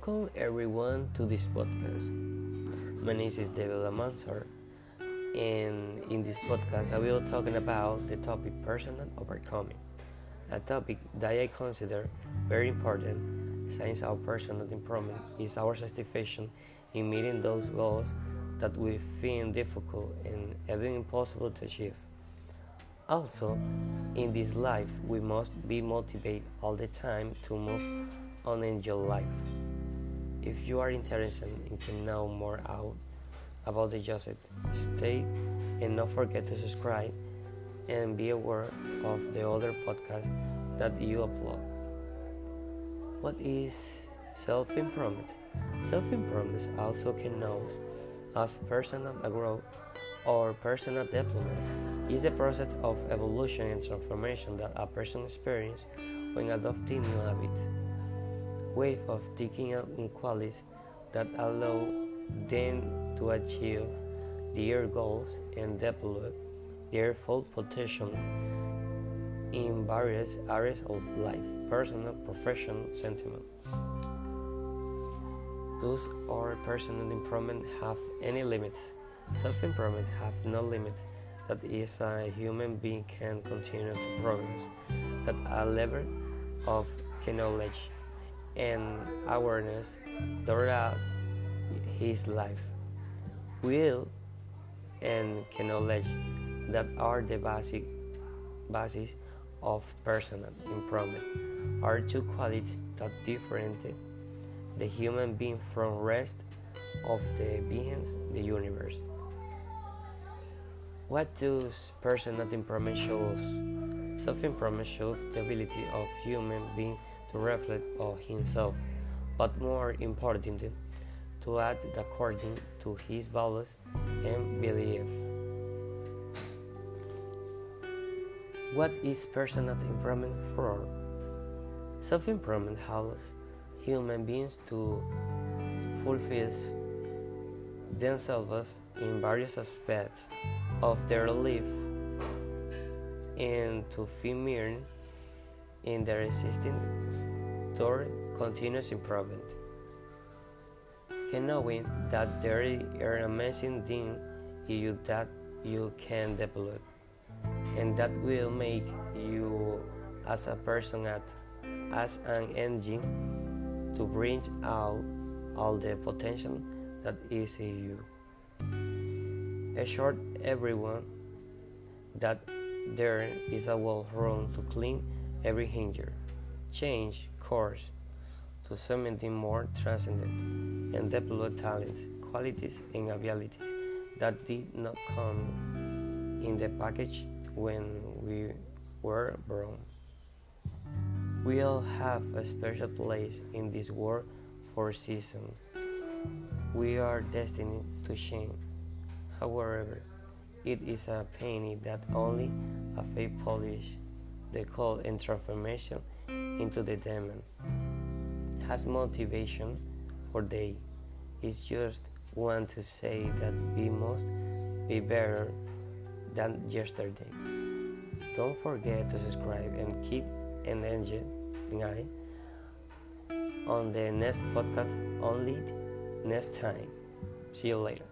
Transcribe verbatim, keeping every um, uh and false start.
Welcome everyone to this podcast. My name is David Amansor, and in this podcast I will talking about the topic personal overcoming, a topic that I consider very important since our personal improvement is our satisfaction in meeting those goals that we find difficult and even impossible to achieve. Also, in this life, we must be motivated all the time to move on in your life. If you are interested in to know more out about the Joseph, stay and don't forget to subscribe and be aware of the other podcasts that you upload. What is self-improvement? Self-improvement also can known as personal growth or personal development is the process of evolution and transformation that a person experiences when adopting new habits, way of thinking and qualities that allow them to achieve their goals and develop their full potential in various areas of life, personal, professional, sentiment. Thus, our personal improvement have any limits. Self-improvement have no limit. That is, a human being can continue to progress at a level of knowledge and awareness throughout his life. Will and knowledge that are the basic basis of personal improvement are two qualities that differentiate the human being from rest of the beings in the universe. What does personal improvement shows? Self-improvement shows the ability of human being to reflect on himself, but more importantly, to act according to his values and beliefs. What is personal improvement for? Self-improvement helps human beings to fulfill themselves in various aspects of their life and to firm in their existing toward continuous improvement. Can knowing that there are amazing things in you that you can develop and that will make you as a person act as an engine to bring out all the potential that is in you. Assure everyone that there is a wall room to clean every hinder, change course to something more transcendent, and develop talents, qualities, and abilities that did not come in the package when we were born. We all have a special place in this world for a season. We are destined to shine. However, it is a penny that only a faith polish the call and transformation into the demon has motivation for day. It's just want to say that we must be better than yesterday. Don't forget to subscribe and keep an eye on the next podcast only next time. See you later.